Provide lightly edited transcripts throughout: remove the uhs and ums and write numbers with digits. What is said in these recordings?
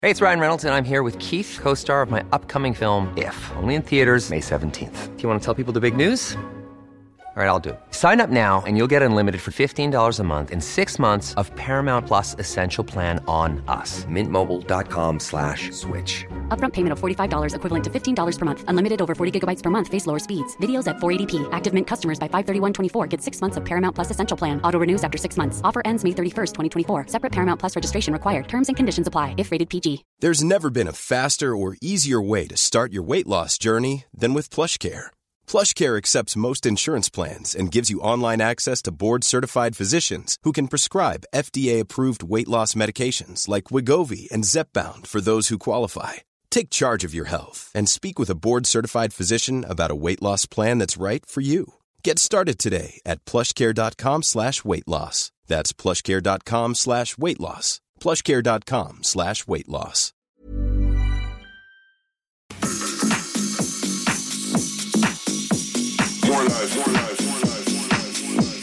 Hey, it's Ryan Reynolds, and I'm here with Keith, co-star of my upcoming film, If, only in theaters May 17th. Do you want to tell people the big news? All right, I'll do it. Sign up now and you'll get unlimited for $15 a month and 6 months of Paramount Plus Essential Plan on us. MintMobile.com/switch. Upfront payment of $45 equivalent to $15 per month. Unlimited over 40 gigabytes per month. Face lower speeds. Videos at 480p. Active Mint customers by 531.24 get 6 months of Paramount Plus Essential Plan. Auto renews after 6 months. Offer ends May 31st, 2024. Separate Paramount Plus registration required. Terms and conditions apply if rated PG. There's never been a faster or easier way to start your weight loss journey than with PlushCare. PlushCare accepts most insurance plans and gives you online access to board-certified physicians who can prescribe FDA-approved weight loss medications like Wegovy and Zepbound for those who qualify. Take charge of your health and speak with a board-certified physician about a weight loss plan that's right for you. Get started today at plushcare.com/weight loss. That's plushcare.com/weight loss. plushcare.com/weight loss. More life, more life, more life, more life, more life.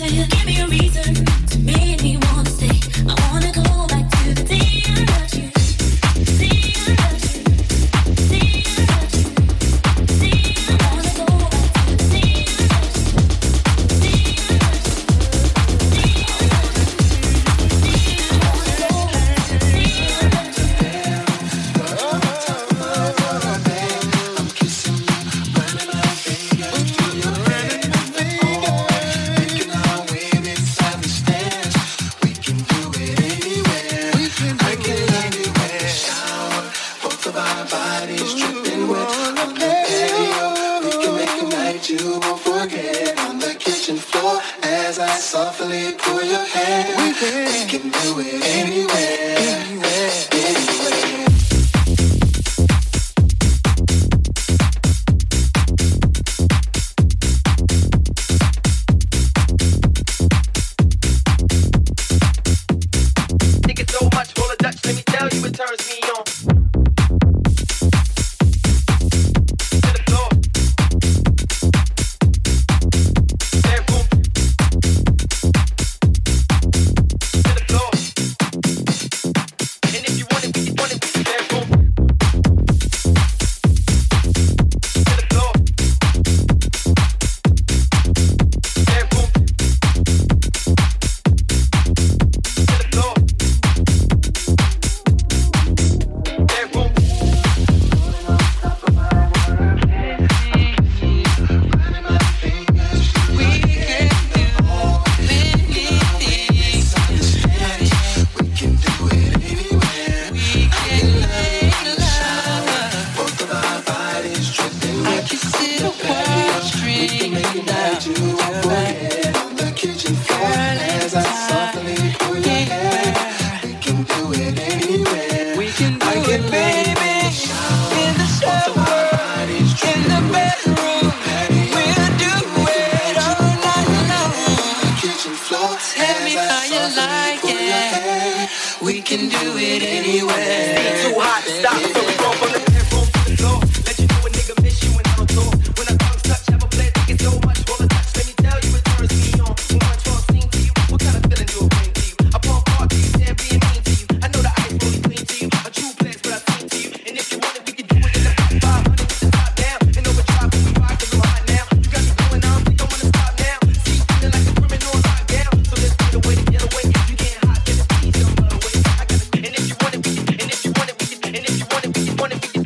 wanna be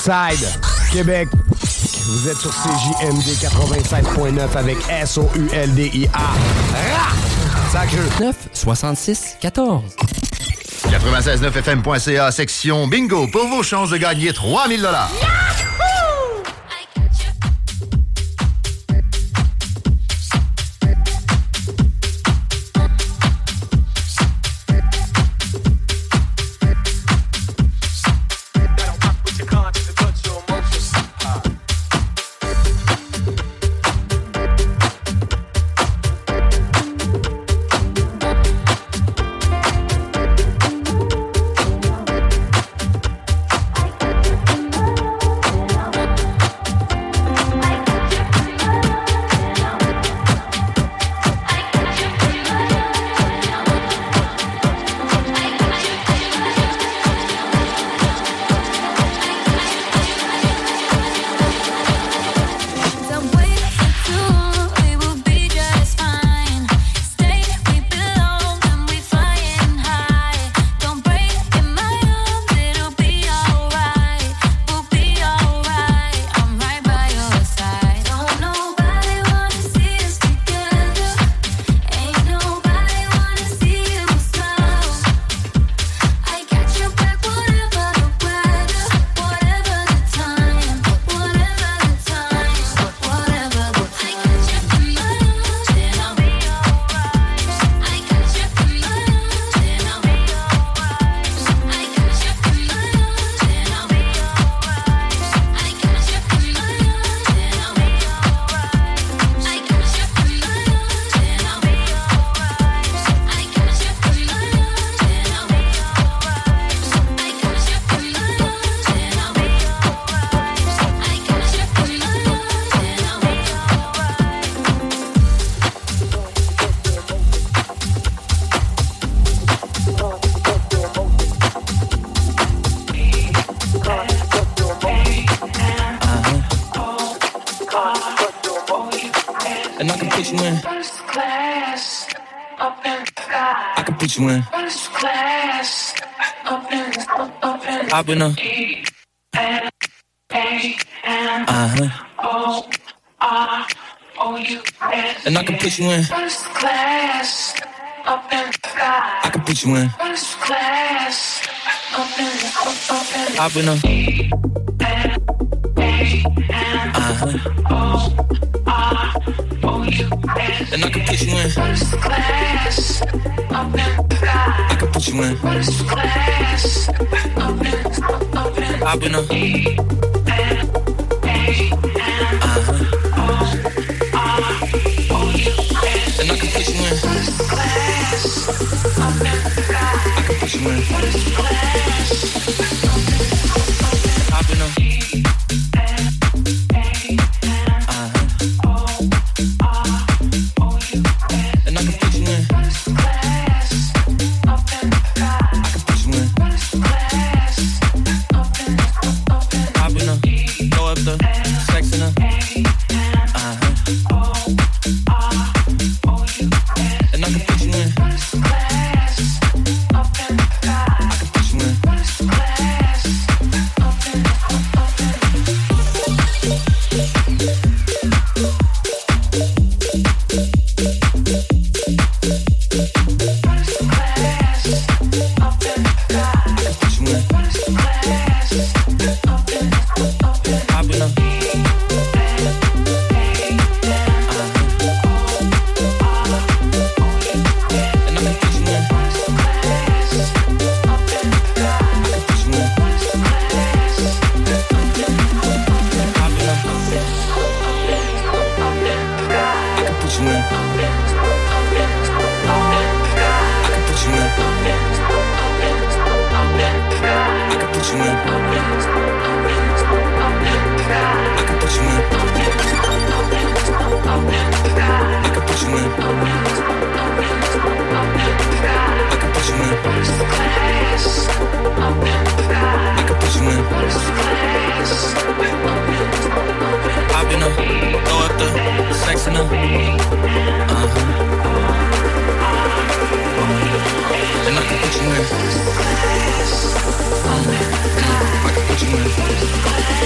Riverside, Québec. Vous êtes sur CJMD 96.9 avec SOULDIA. Sacreux. 966-14. 96.9fm.ca, section bingo, pour vos chances de gagner 3000 $. And I can put you in. First class, up in the sky. I can put you in. First class, up in I've been a O-R-O-U-S. And I can put you in. First class, up in the sky. I can put you in. First class, up in I've been a O-R-O-U-S. And I can put you in. First class, up in the sky. I can put you in. First class, up in I've been a O-R-O-U-S. And I can put you in. First class, up in the sky. I can put you in. First class, I've been a I can put you in.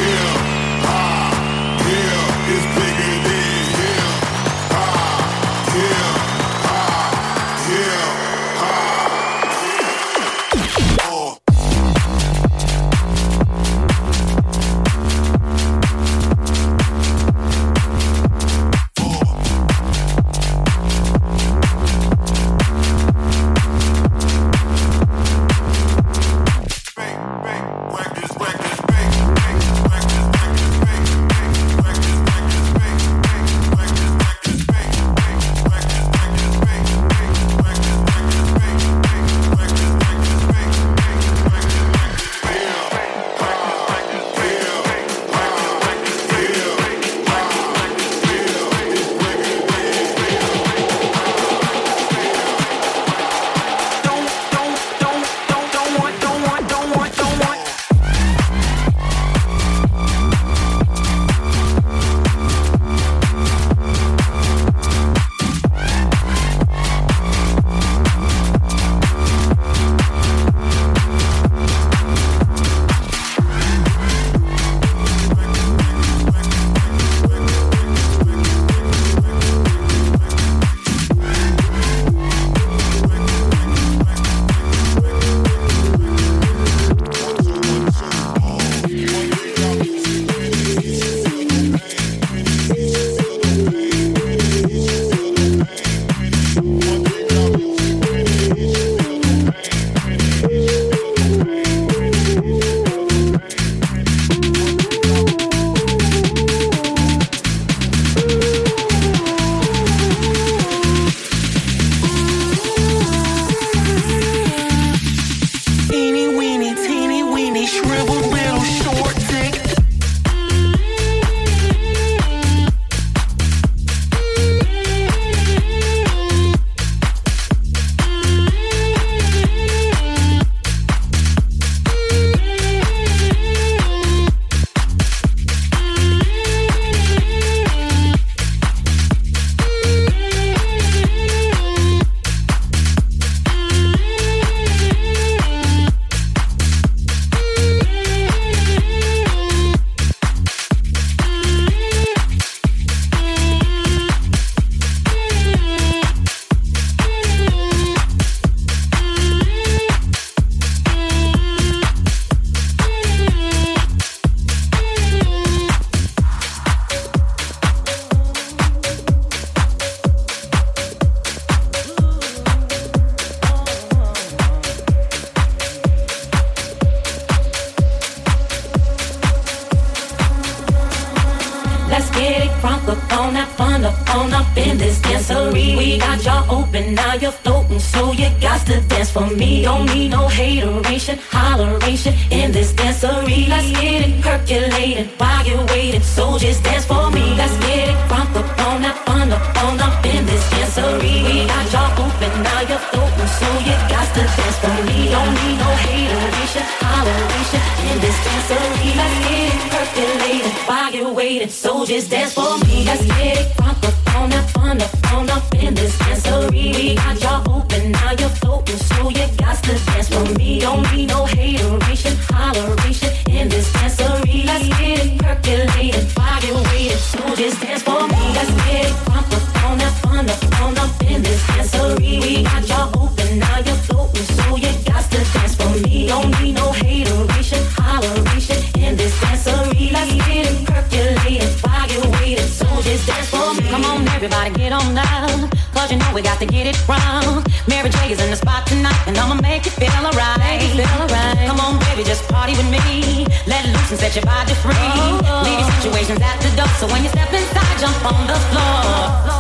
up in this dancery. We got y'all open, now you're floating, so you got to dance for me. Don't need no hateration, holleration in this dancery. Let's get it percolated while you're waiting, so just dance for me. Let's get it crunk up on that fun up in this dancery. We got y'all open, now you're floating, so you got to dance for me. Don't need no hateration, holleration in this dancery. Let's get it percolated while you're waiting, so just dance for me. Let's get it crunk up on that fun up in this dancery. We got y'all open, now you're floating, so you got to dance for me. Don't need no hateration, holleration in this dancery. Let's get it percolated while you're waiting, so just dance for me. Let's get it crunk up on that fun up in this dancery. We got y'all open, now you're floating, so you got to dance for me. Don't need no hateration, holleration in this dancery. Let's get it percolated while you're waiting, so just dance for me. Come on, everybody, get on now, cause you know we got to get it wrong. Mary J is in the spot tonight, and I'ma make you feel alright. Come on, baby, just party with me. Let loose and set your body free. Leave your situations at the door, so when you step inside, jump on the floor.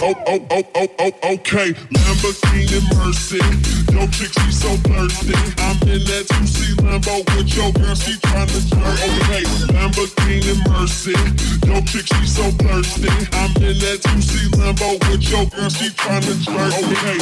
Okay, Lamborghini Mercy. Yo, chick, she so thirsty. I'm in that 2C Lambo with your girl, she tryna jerk. Okay, Lamborghini Mercy. Yo, chick, she so thirsty. I'm in that 2C Lambo with your girl, she tryna jerk. Okay.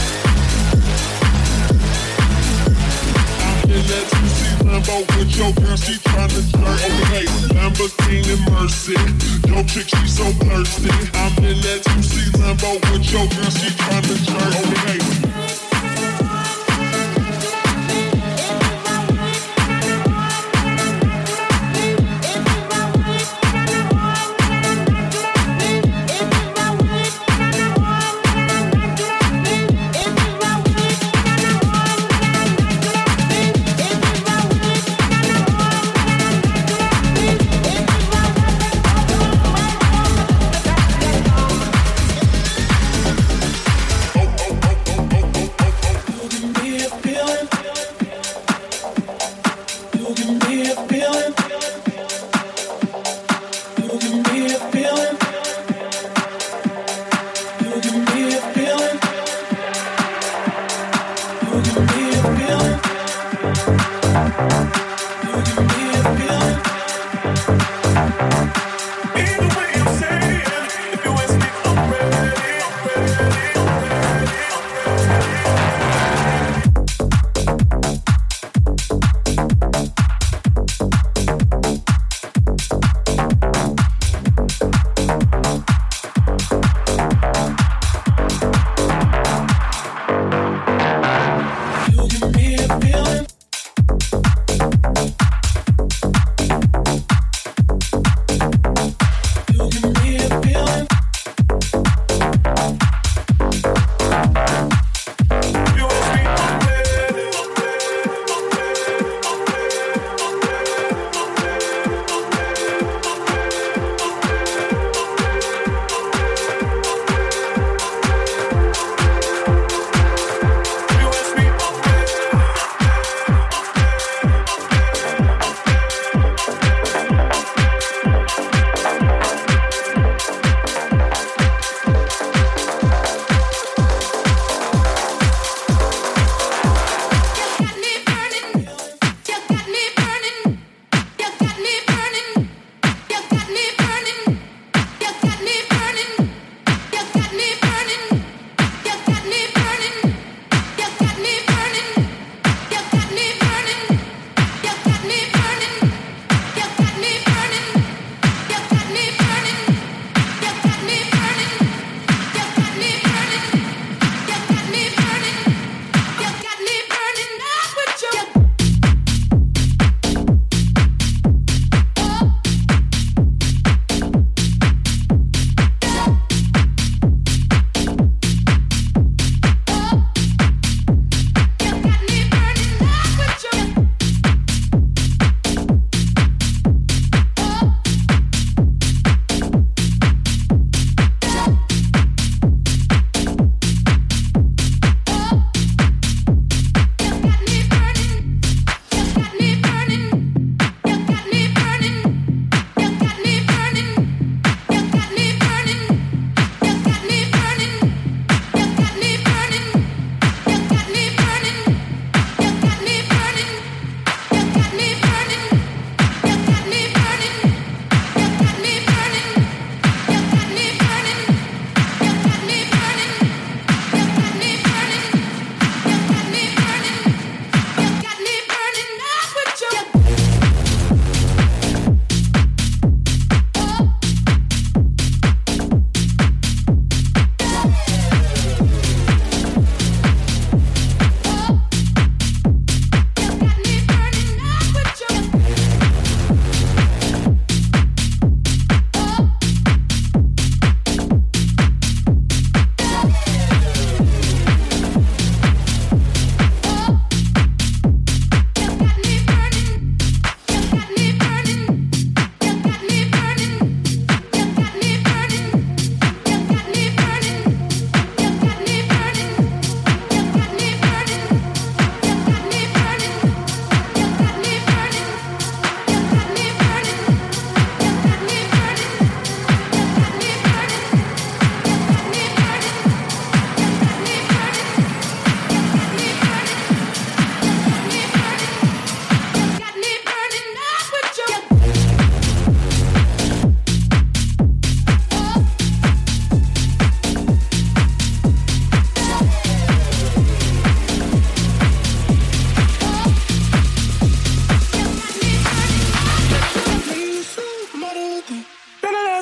I'm in that 2C Lambo with your girl, she tryna jerk. Okay, Lamborghini Mercy. Yo, chick, she so thirsty. I'm in that 2C Lambo with your girl, she tryna jerk. Okay.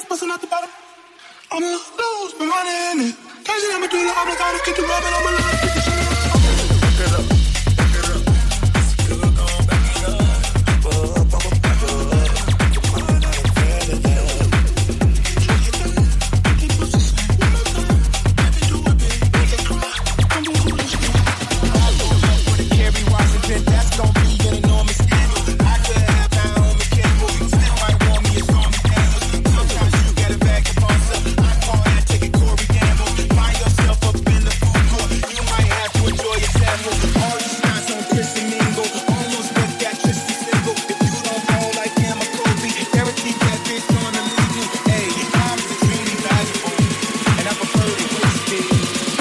busting out the bottom. I'ma lose my money in it. Can't see I'ma do the obligado, get the rubbing on my line, get the shit up. Back it up, back it up. Still gon' back it up. Back it up. That's gon' be an enormous scandal. I could have my own mechanical. Still might want me a stormy Daniels. Sometimes you get it back and boss up. I call that taking Corey Gamble. Find yourself up in the food court. You might have to enjoy your sample. All these nights on Chris and Mingle. Almost with that Tristan single. If you don't fall like him or Kobe, everything that bitch gonna leave you. Hey, I'm extremely valuable. And I prefer to waste it.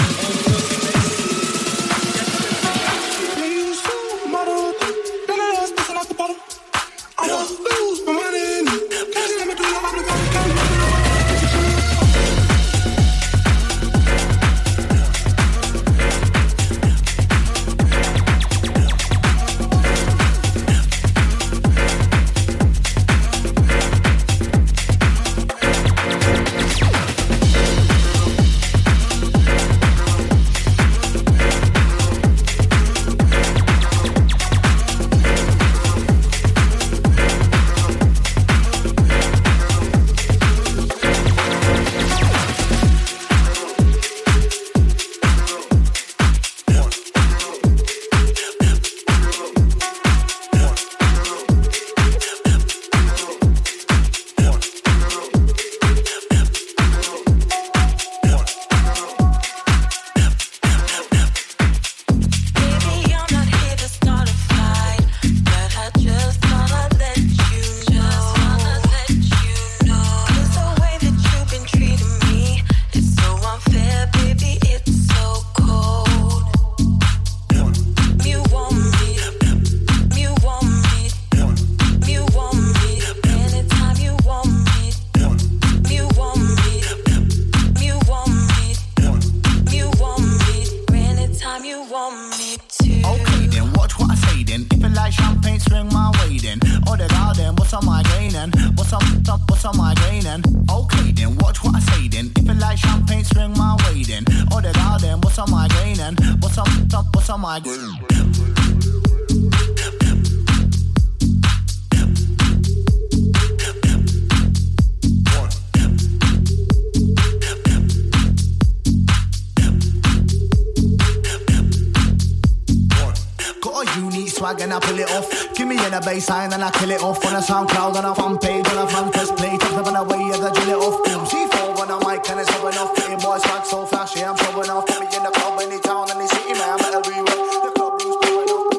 And I pull it off. Give me in a baseline and I kill it off. On a SoundCloud, on a fan page, on a fan test play. Take them away as I drill it off. C4 on a mic and it's showing off. Getting boys swag so flashy, I'm showing off. Put me in the club, any town, any city, man, I'm everywhere. The club blues blowing off.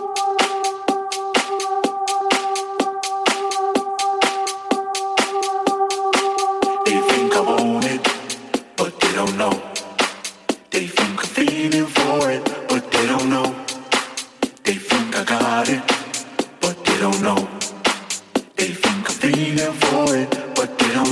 They think I want it, but they don't know. They think I'm feeling for it, but they don't know. They think I got it, but they don't know. They think I'm feeling for it, but they don't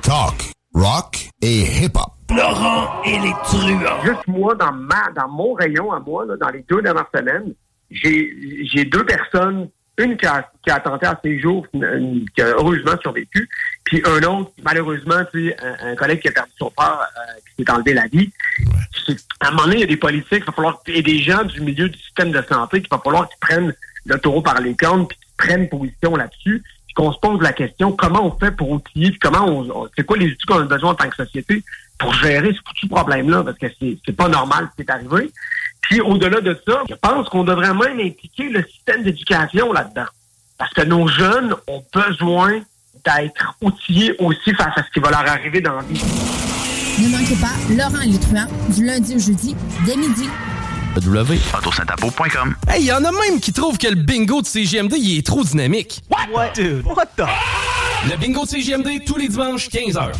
talk, rock et hip-hop. Laurent et les truands. Juste moi, dans mon rayon à moi, là, dans les 2 dernières semaines, j'ai 2 personnes, une qui a tenté à ses jours, qui a heureusement survécu, puis un autre, malheureusement, tu sais, un collègue qui a perdu son père, qui s'est enlevé la vie. À un moment donné, il y a des politiques, il va falloir, et des gens du milieu du système de santé, qu'il va falloir qu'ils prennent le taureau par les cornes, puis qu'ils prennent position là-dessus, puis qu'on se pose la question, comment on fait pour outiller, puis comment c'est quoi les outils qu'on a besoin en tant que société pour gérer ce problème-là, parce que c'est pas normal ce qui est arrivé. Puis au-delà de ça, je pense qu'on devrait même impliquer le système d'éducation là-dedans. Parce que nos jeunes ont besoin d'être outillés aussi face à ce qui va leur arriver dans la vie. Ne manquez pas Laurent et les truands du lundi au jeudi dès midi. www.autosaintapo.com. Hey, y en a même qui trouvent que le bingo de CJMD, il est trop dynamique. What? Dude, what the? Le bingo de CJMD, tous les dimanches, 15h.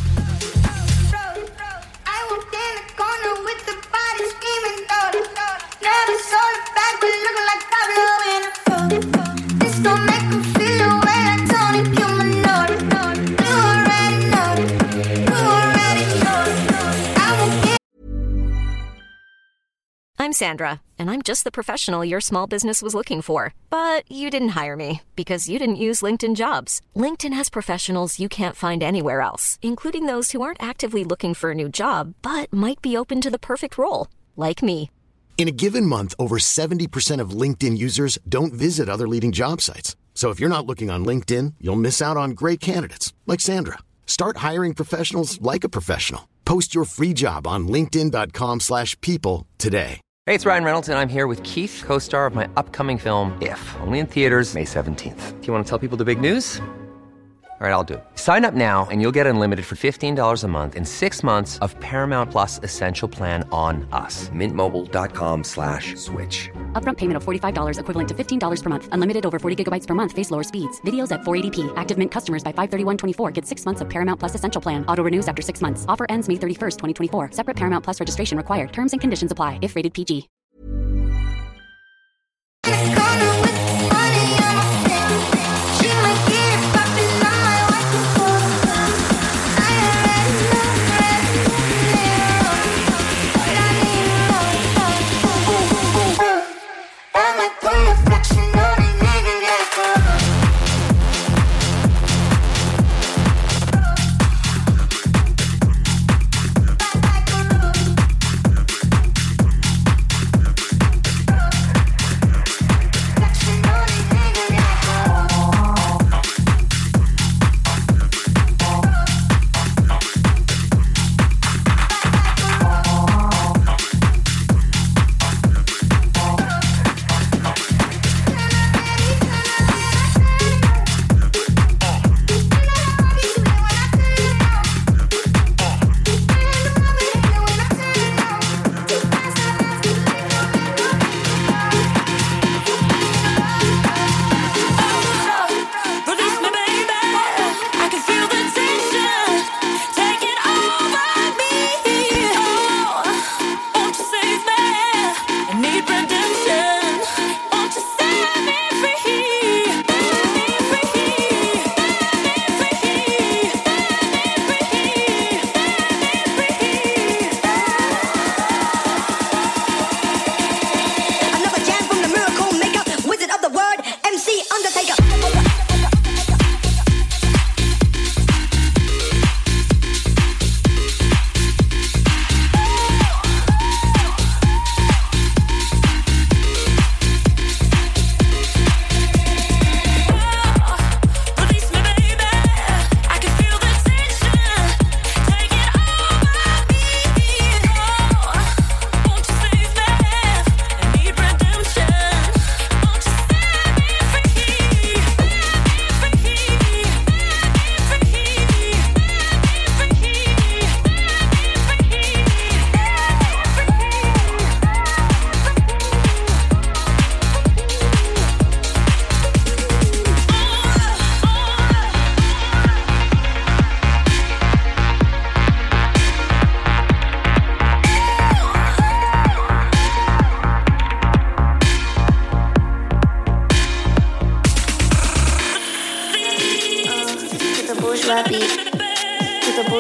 I'm Sandra, and I'm just the professional your small business was looking for. But you didn't hire me because you didn't use LinkedIn Jobs. LinkedIn has professionals you can't find anywhere else, including those who aren't actively looking for a new job, but might be open to the perfect role, like me. In a given month, over 70% of LinkedIn users don't visit other leading job sites. So if you're not looking on LinkedIn, you'll miss out on great candidates like Sandra. Start hiring professionals like a professional. Post your free job on linkedin.com/people today. Hey, it's Ryan Reynolds, and I'm here with Keith, co-star of my upcoming film, If, only in theaters May 17th. Do you want to tell people the big news? All right, I'll do it. Sign up now and you'll get unlimited for $15 a month and 6 months of Paramount Plus Essential Plan on us. MintMobile.com/switch. Upfront payment of $45 equivalent to $15 per month. Unlimited over 40 gigabytes per month. Face lower speeds. Videos at 480p. Active Mint customers by 531.24 get 6 months of Paramount Plus Essential Plan. Auto renews after 6 months. Offer ends May 31st, 2024. Separate Paramount Plus registration required. Terms and conditions apply if rated PG.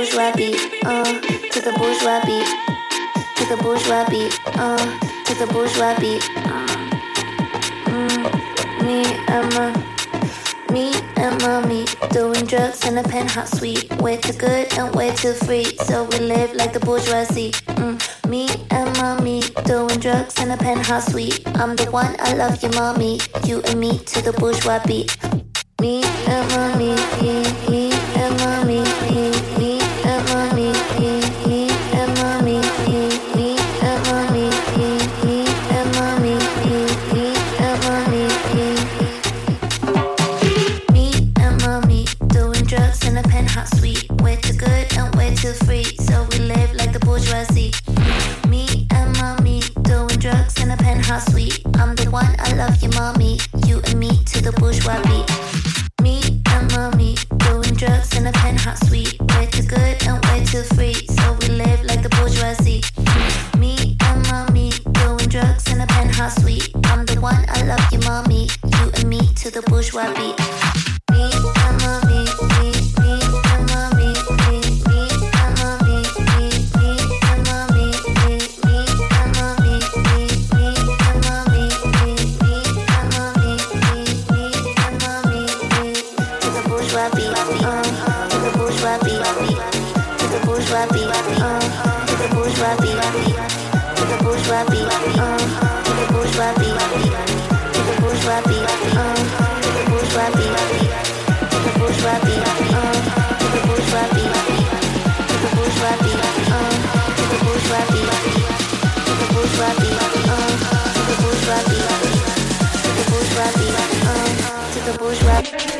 bourgeois beat, to the bourgeois beat, to the bourgeois beat, to the bourgeois beat. Me and mommy doing drugs in a penthouse suite. Way too good and way too free, so we live like the bourgeoisie. Me and mommy doing drugs in a penthouse suite. I'm the one, I love you, mommy. You and me to the bourgeois beat. Me and mommy, me and mommy, me and mommy, me and mommy, me and mommy, me and mommy, me and mommy. Me and mommy doing drugs in a penthouse suite. Way too good and way too free, so we live like the bourgeoisie. Me and mommy doing drugs in a penthouse suite. I'm the one, I love you, mommy. You and me to the bourgeois beat. Me and mommy doing drugs in a penthouse suite. Way too good and way too free, so we live like the bourgeoisie. Me and mommy doing drugs in a penthouse suite. I'm the one, I love you, mommy. You and me to the bourgeois beat. Me and mommy, me and mommy, me and mommy, me and mommy, me and mommy, me and mommy, me and mommy, me and mommy, to the bourgeois beat, to the bourgeois beat, to the bourgeois beat, to the bourgeois beat, to the bourgeois beat, to the bourgeois beat, to the bourgeois beat, to the bourgeois beat, to the bourgeois beat, to the bourgeois beat, to the bourgeois beat, to the bourgeois beat, to the bourgeois beat, to the bourgeois beat, to the bourgeois beat, to the bourgeois beat.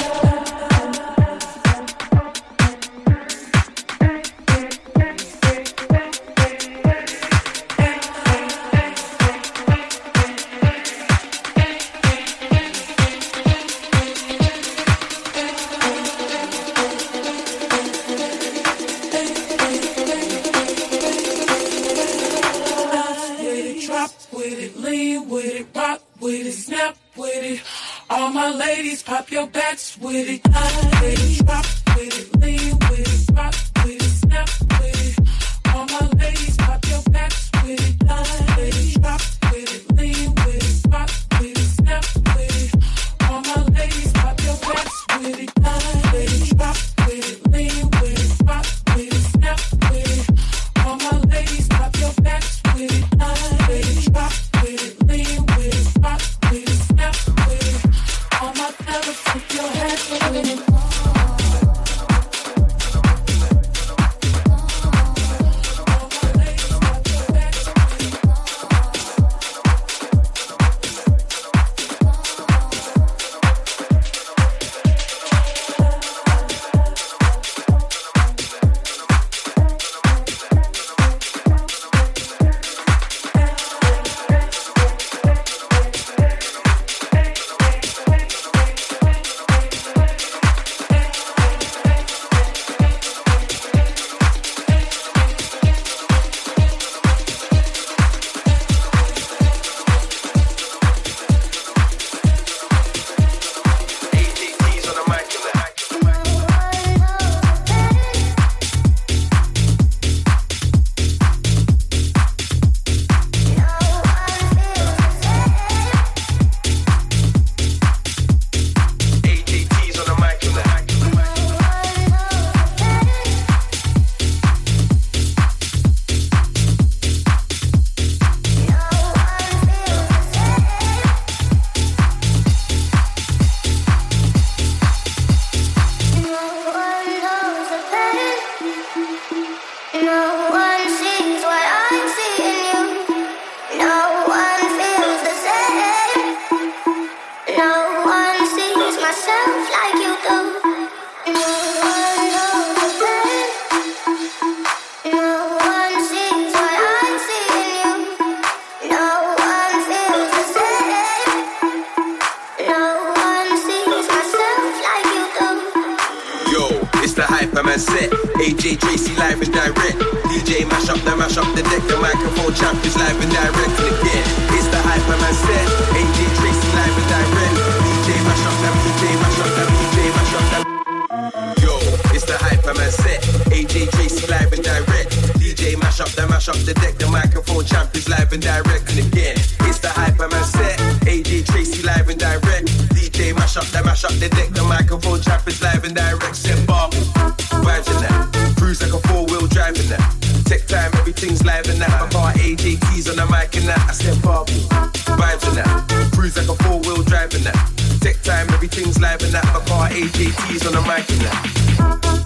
Pop your backs with it, with it, drop with it, lean with it, rock with it, snap with it. All my ladies, pop your backs with it, with it, drop with it, lean with it, rock with it, snap with it. All my ladies, pop your backs with it, with it, drop with it, lean with it, rock with it, snap with it. All my ladies, pop your backs with it, with it, drop with it, lean with it, rock with it, snap with it. All my fellas, put your hands with it. Hyperman set. AJ Tracy live and direct. DJ mash up the deck. The microphone champ is live and direct again. It's the Hyperman set. AJ Tracy live and direct. DJ mash up them. DJ mash up them. DJ mash up them. Yo, it's the Hyperman hyper man set. AJ Tracy live and direct. DJ mash up the deck. The microphone champ is live and direct. And again, it's the hyper man set. AJ Tracy live and direct. DJ mash up the deck. The microphone champ is live and direct. Set bar, vibes in that. Cruise like a 4-wheel driving that. Tech time, everything's live and that. My bar AJT's on the mic and that. I said bar, vibes in that. Cruise like a 4-wheel driving that. Tech time, everything's live and that. My bar AJT's on the mic and that.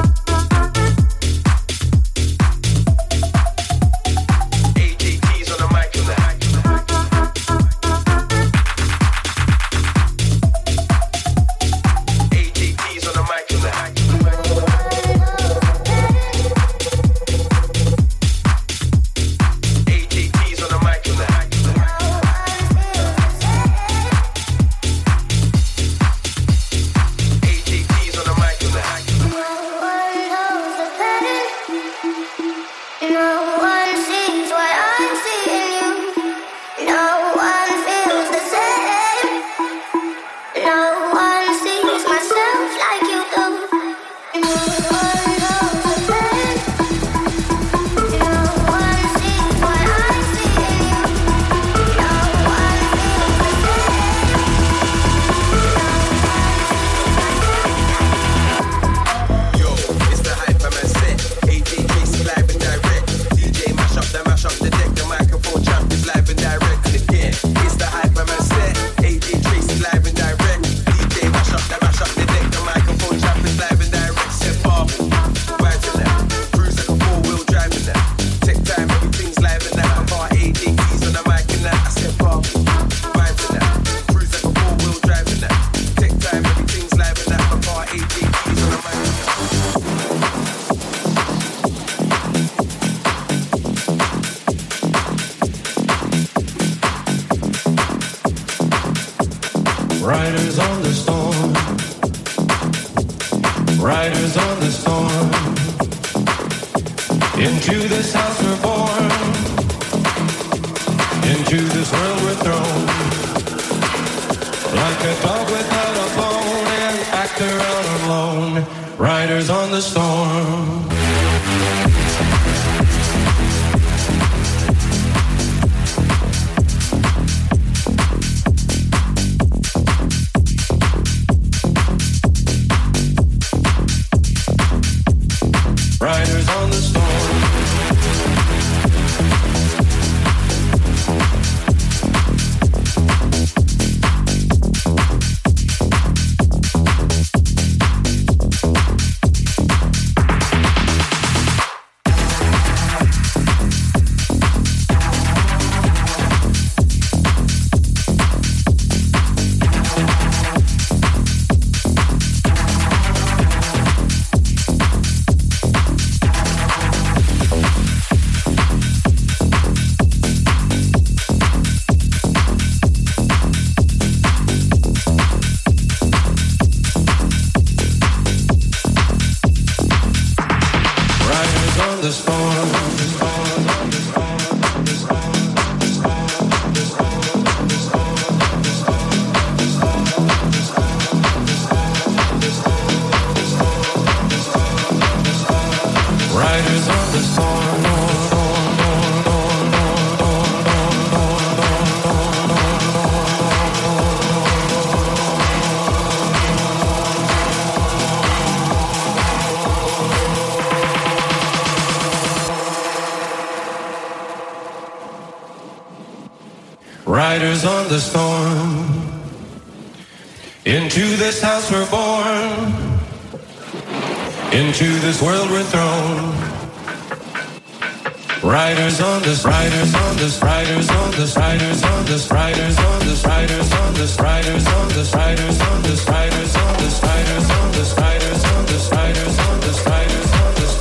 Riders on the storm. Riders on the storm. Into this house we're born. Into this world we're thrown. Like a dog without a bone, an actor out alone. Riders on the storm. Riders on the storm. Riders on the storm. Into this house we're born. Into this world we're thrown. Riders on this, riders on this, riders on this, riders on this, riders on this, riders on this, riders on this, riders on this, riders on this, riders on this, riders on this, riders on this, riders on this, riders on this, riders on this,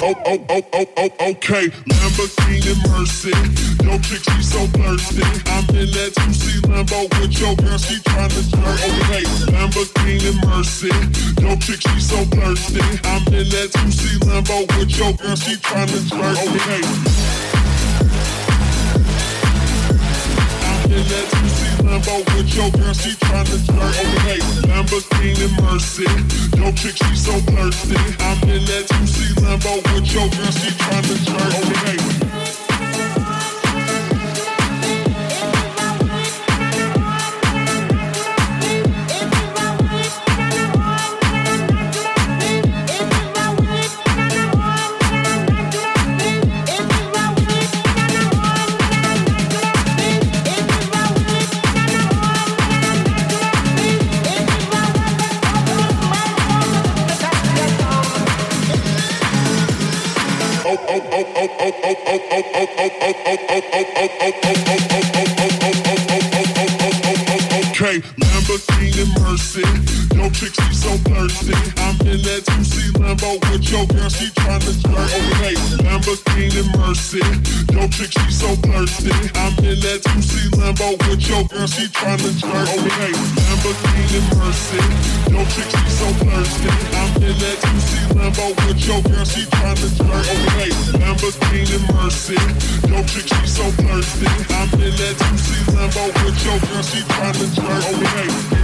Okay, Lamborghini Mercy. Yo, chick, she so thirsty. I'm in that 2C Lambo with your girl, she tryna jerk. Okay, Lamborghini Mercy. Yo, chick, she so thirsty. I'm in that 2C Lambo with your girl, she tryna jerk. Okay. In that 2C Lambo with your girl, she tryna jerk. Okay, Lamborghini Mercy. Yo, chick, she so thirsty. I'm in that 2C Lambo with your girl, she tryna jerk. Okay. Okay, Lamborghini Mercy. Yo, chick, she so thirsty. I'm in that 2C Lambo with your girl, she tryna jerk. Okay, Lamborghini Mercy. Yo, chick, she so thirsty. I'm in that 2C Lambo with your girl, she tryna jerk. Okay, Lamborghini Mercy. Yo, chick, she so thirsty. I'm in that 2C Lambo with your girl, she tryna jerk. Okay, Lamborghini Mercy. Yo, chick, she so thirsty. I'm in that 2C Lambo with your girl, she tryna jerk. Okay.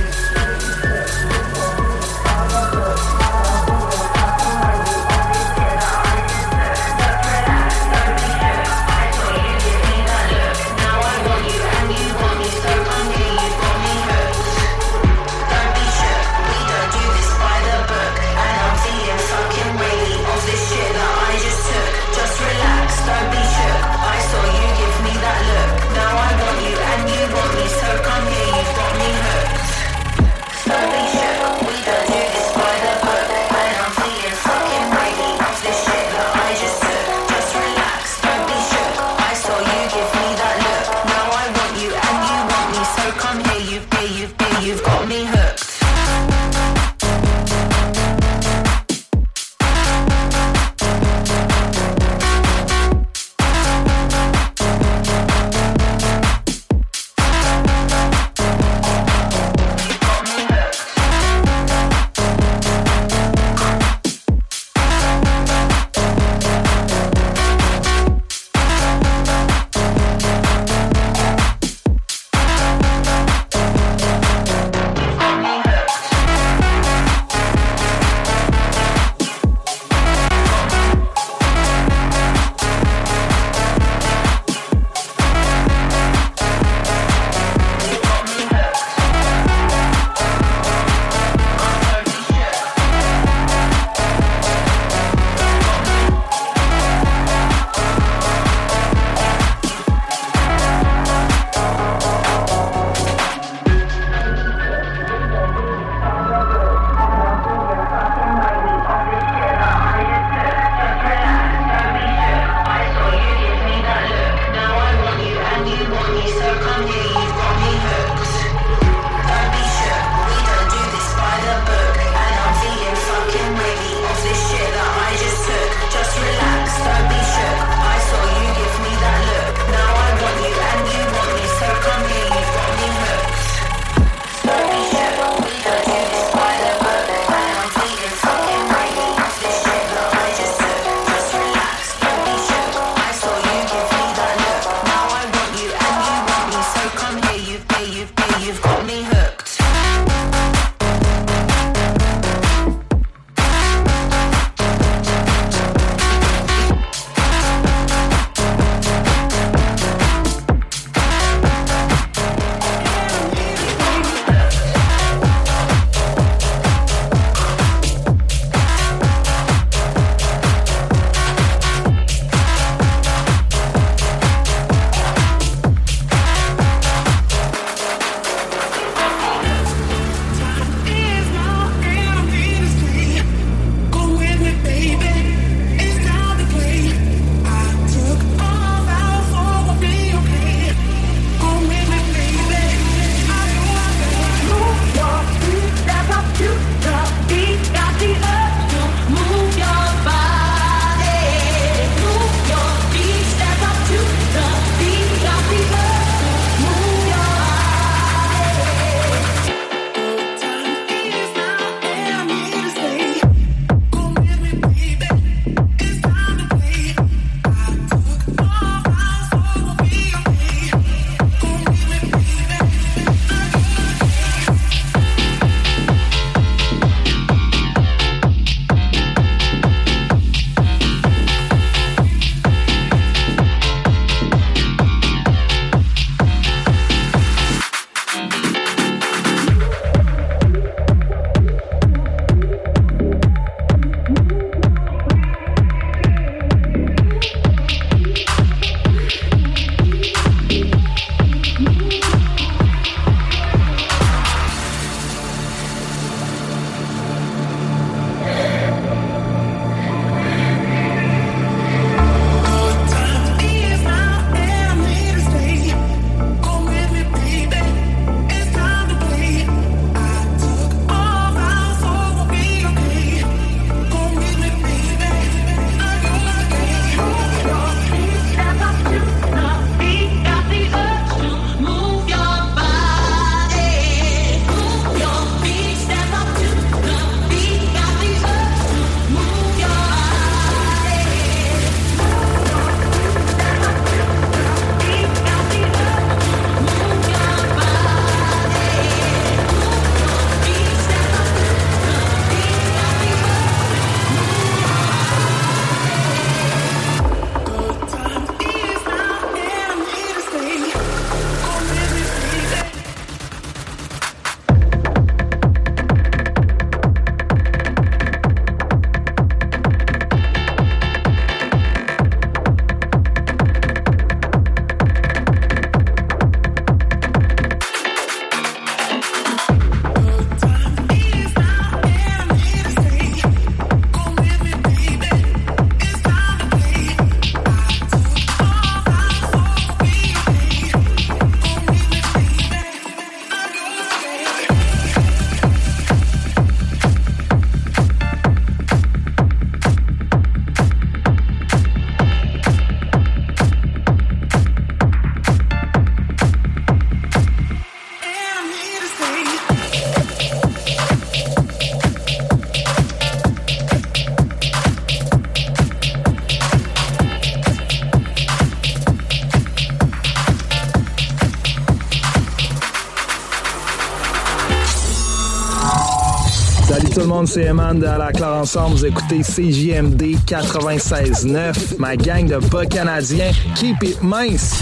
monde, c'est Eman de la Claire Ensemble. Vous écoutez CJMD 96.9. Ma gang de bas canadiens. Keep it mince.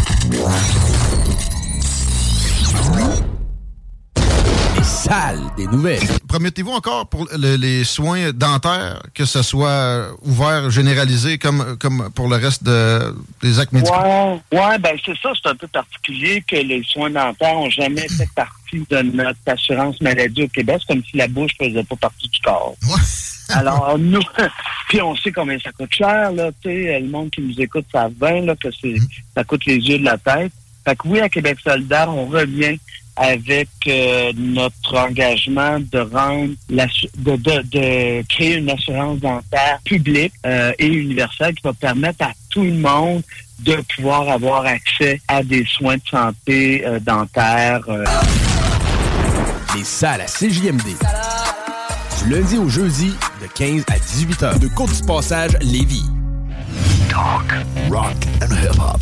Les salles des nouvelles. Promettez-vous encore pour les soins dentaires que ce soit ouvert, généralisé comme pour le reste des actes médicaux? Ouais, ben c'est ça, c'est un peu particulier que les soins dentaires n'ont jamais fait partie de notre assurance maladie au Québec. C'est comme si la bouche ne faisait pas partie du corps. Ouais. Alors, nous, puis on sait combien ça coûte cher, là, tu sais, le monde qui nous écoute savent bien, là, que ça coûte les yeux de la tête. Fait que oui, à Québec solidaire, on revient avec notre engagement de rendre de créer une assurance dentaire publique et universelle qui va permettre à tout le monde de pouvoir avoir accès à des soins de santé dentaires. Les salles à CJMD. Du lundi au jeudi, de 15 à 18 heures. De Côte du Passage, Lévis. Talk, rock and hip-hop.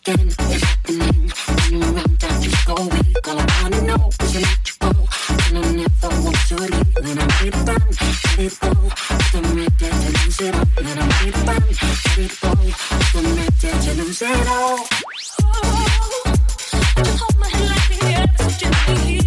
Again, it's happening. When you run down, just go weak. All I wanna know is to let you go. And I never want to leave. Then I'm ready to run, ready to go. I'm ready to lose it all. Then I'm ready to run, ready to go. I'm ready to lose it all. Just hold my hand like the air, so gently.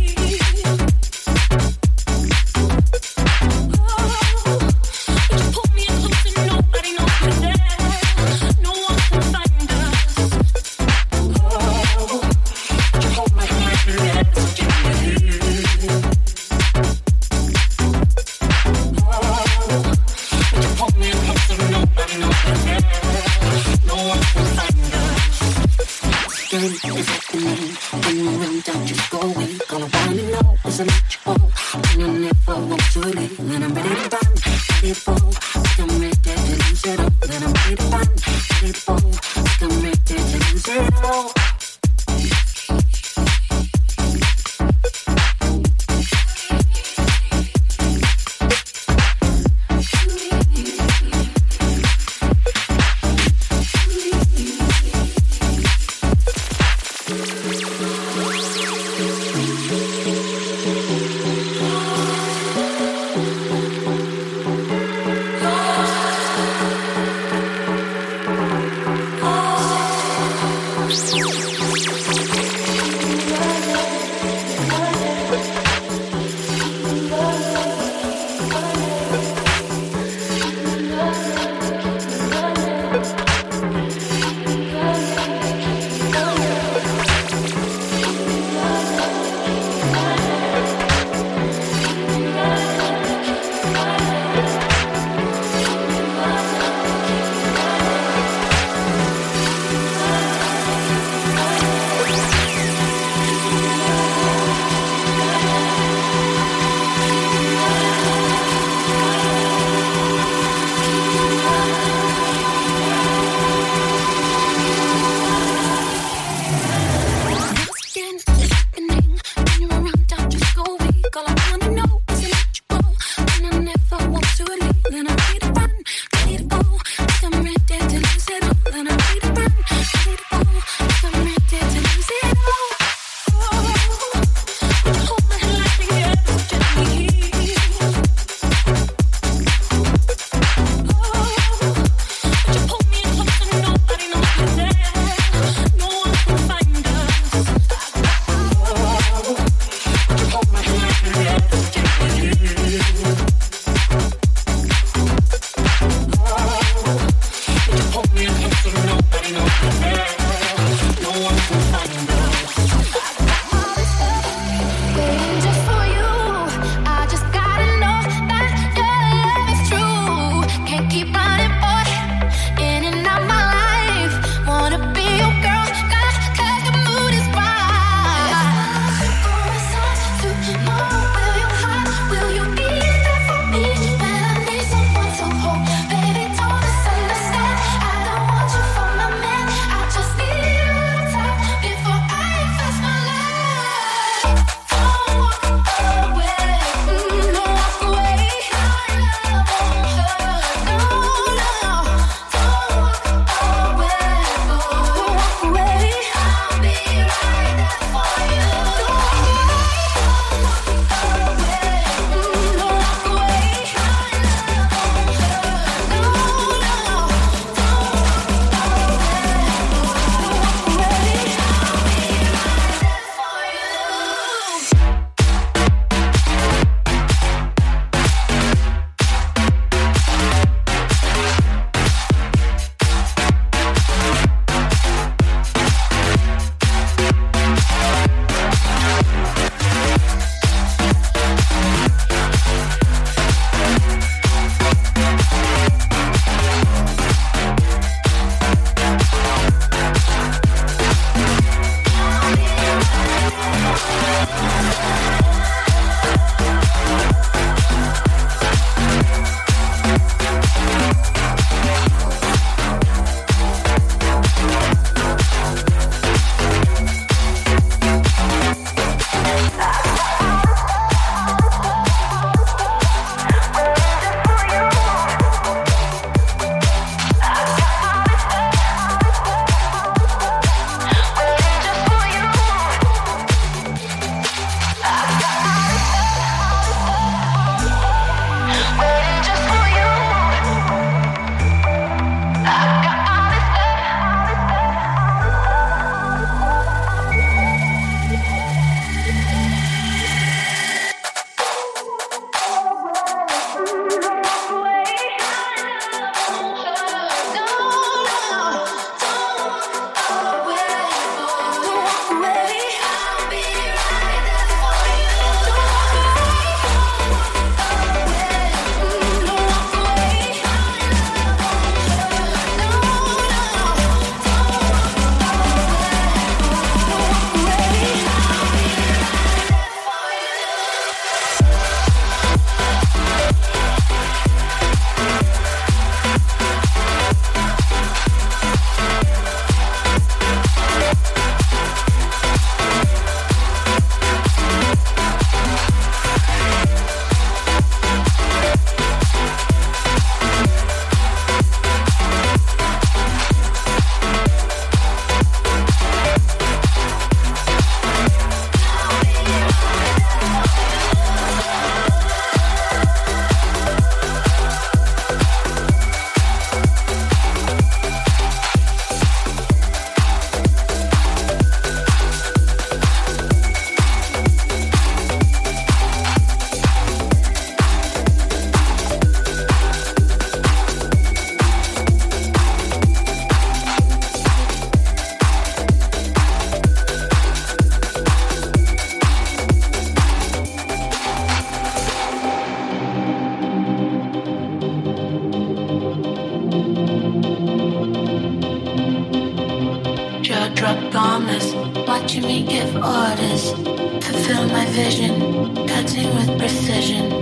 Jaw-dropped promise, watching me give orders, fulfill my vision, cutting with precision,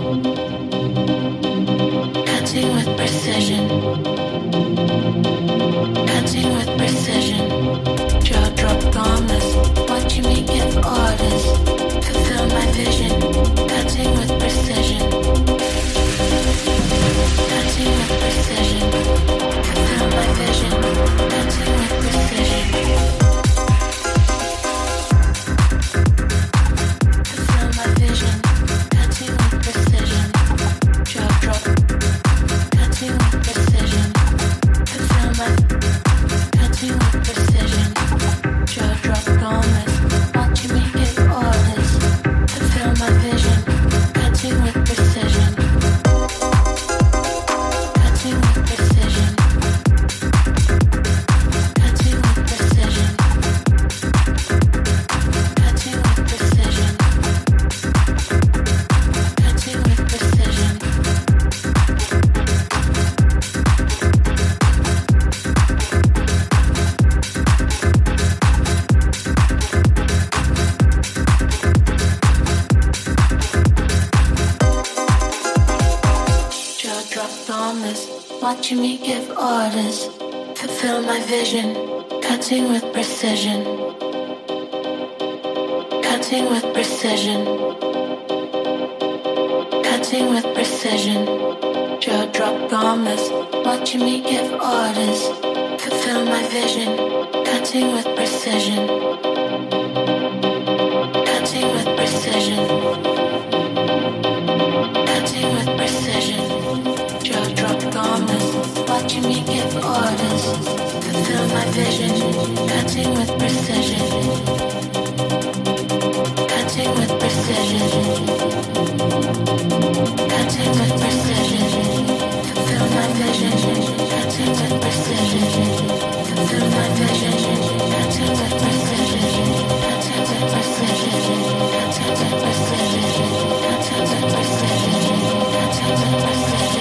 cutting with precision, cutting with precision. Jaw-dropped promise, watching me give orders, fulfill my vision, cutting with precision, cutting with precision, fulfill my vision, cutting with precision. Fulfill my vision, cutting with precision. Jaw-drop, cutting with precision. Fulfill my, cutting with precision. Jaw-drop promise, watching me give orders. Fulfill my vision, cutting with precision. Cutting with precision. Cutting with precision. Cutting with precision. Cutting with precision. Jaw-drop promise, watching me give orders, fulfill my vision, cutting with precision, cutting with precision, cutting with precision. Jaw-drop promise, watching me give orders, fulfill my vision, cutting with precision, cutting with precision, cutting with precision. Jaw-drop promise, watching me give orders, fulfill my vision, cutting with precision, cutting with precision, cutting with precision, fulfill my vision, cutting with precision, fulfill my vision, cutting with precision, cutting with precision, cutting with precision, cutting with precision, cutting with precision.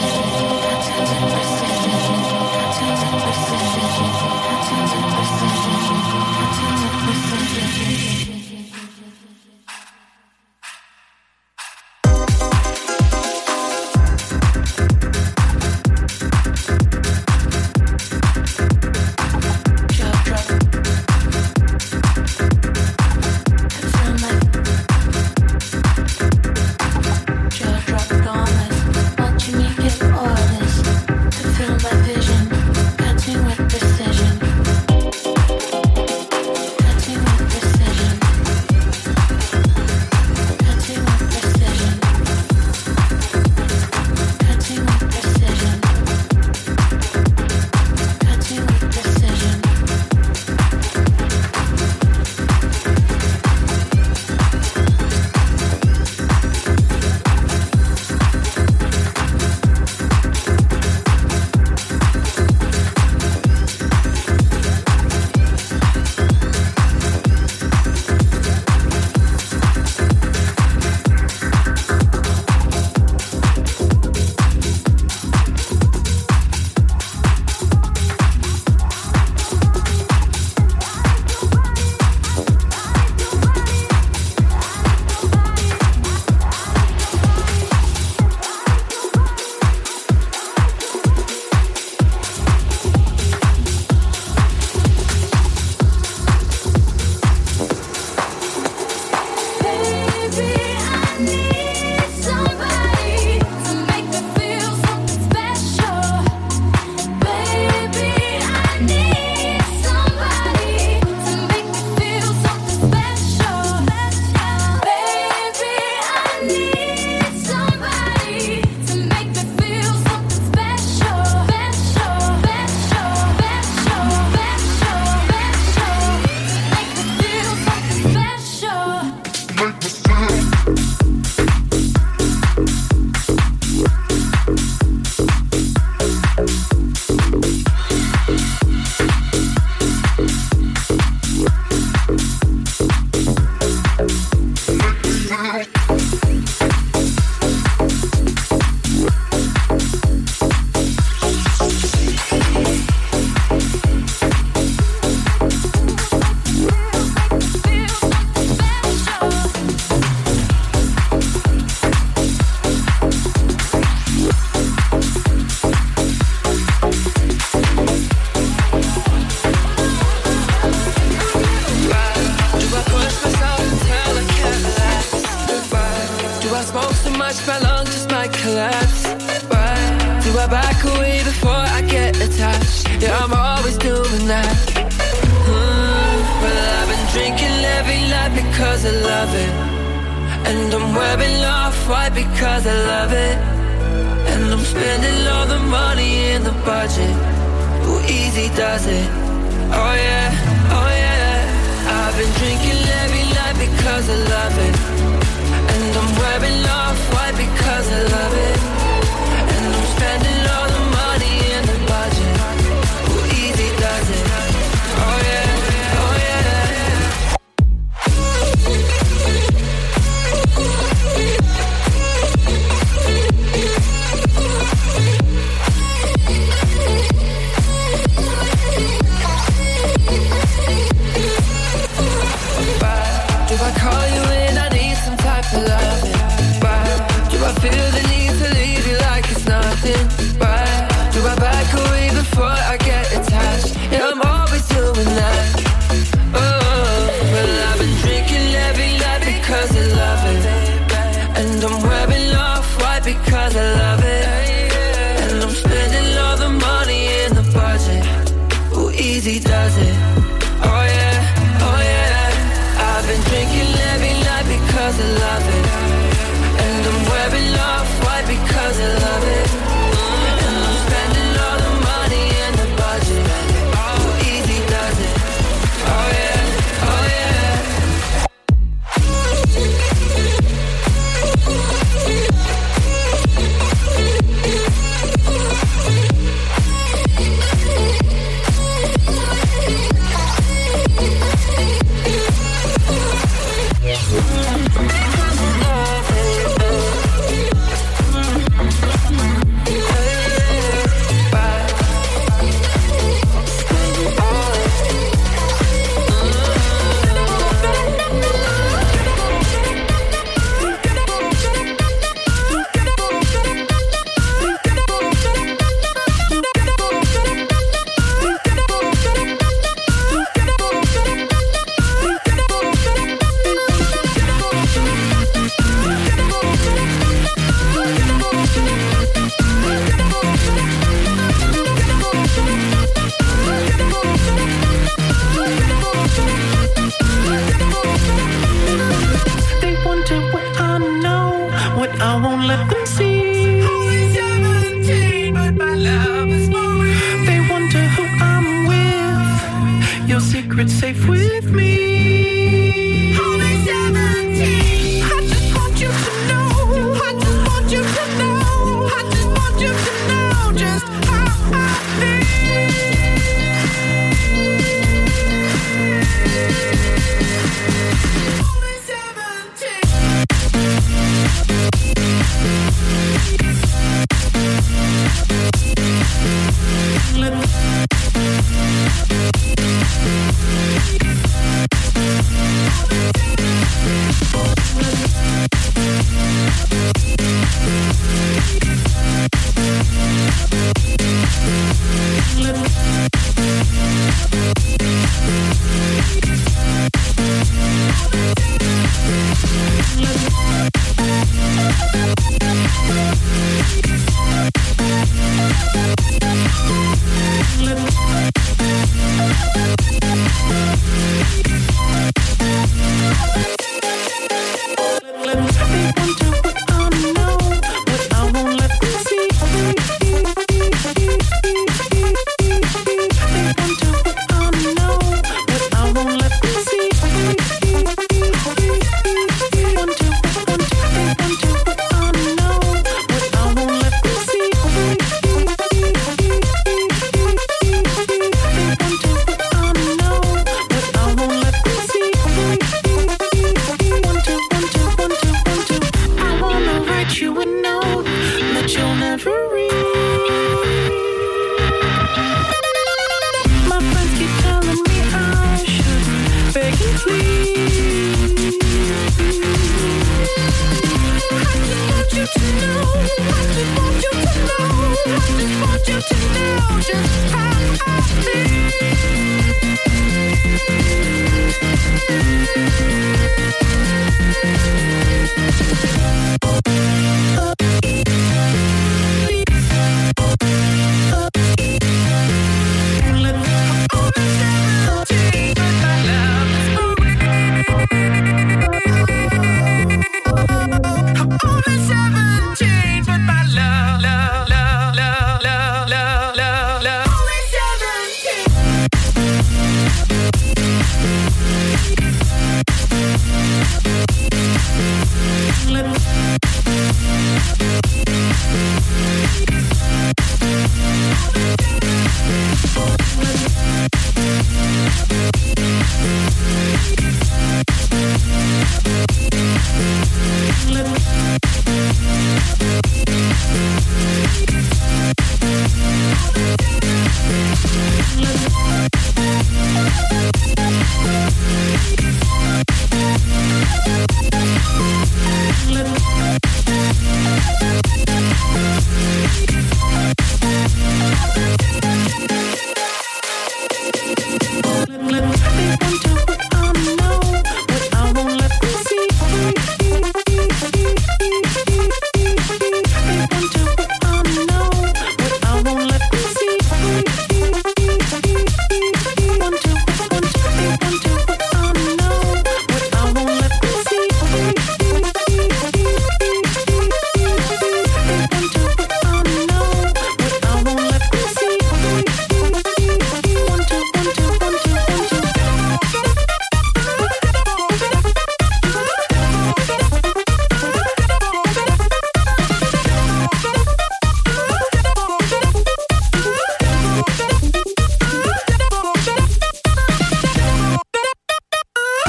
because I love it. And I'm wearing off-white because I love it. And I'm spending all the money in the budget. Who easy does it? Oh yeah, oh yeah. I've been drinking every night because I love it. And I'm wearing off-white because I love it. And I'm spending all the money in the budget. Who easy does it? Oh yeah, oh yeah. Do I call you when I need some type of loving? Do I feel the need to leave you like it's nothing? Do I back away before I get attached? Yeah, I'm always doing that. Oh, well, I've been drinking every night because I love it. And I'm wearing off-white because I love it. And I'm spending all the money in the budget. Who easy does it? Oh yeah, oh yeah. I've been drinking every night because I love it. And I'm wearing off-white because I love it. And I'm spending all the money in the budget. Who easy does it? Oh yeah, oh yeah. They wonder what I know, what I won't let them see. Only 17, but my love is more real. They wonder who I'm with. Your secret's safe with me. Only 17. I just want you to know. I just want you to know. I just want you to know just how I feel. Let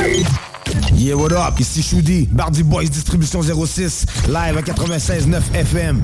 Yeah, what up? Ici Shoudi, Bardi Boys Distribution 06, live à 96.9 FM.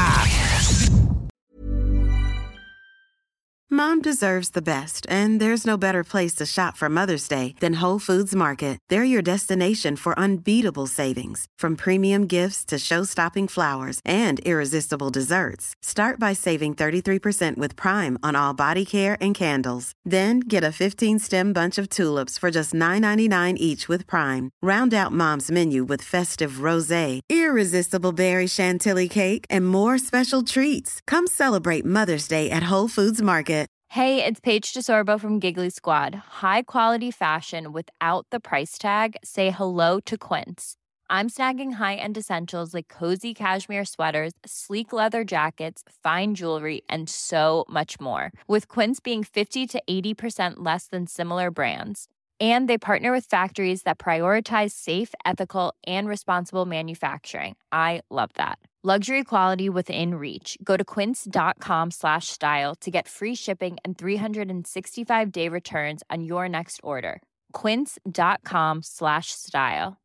Mom deserves the best, and there's no better place to shop for Mother's Day than Whole Foods Market. They're your destination for unbeatable savings, from premium gifts to show-stopping flowers and irresistible desserts. Start by saving 33% with Prime on all body care and candles. Then get a 15-stem bunch of tulips for just $9.99 each with Prime. Round out Mom's menu with festive rosé, irresistible berry chantilly cake, and more special treats. Come celebrate Mother's Day at Whole Foods Market. Hey, it's Paige DeSorbo from Giggly Squad. High quality fashion without the price tag. Say hello to Quince. I'm snagging high-end essentials like cozy cashmere sweaters, sleek leather jackets, fine jewelry, and so much more. With Quince being 50 to 80% less than similar brands. And they partner with factories that prioritize safe, ethical, and responsible manufacturing. I love that. Luxury quality within reach. Go to quince.com/style to get free shipping and 365-day returns on your next order. Quince.com/style.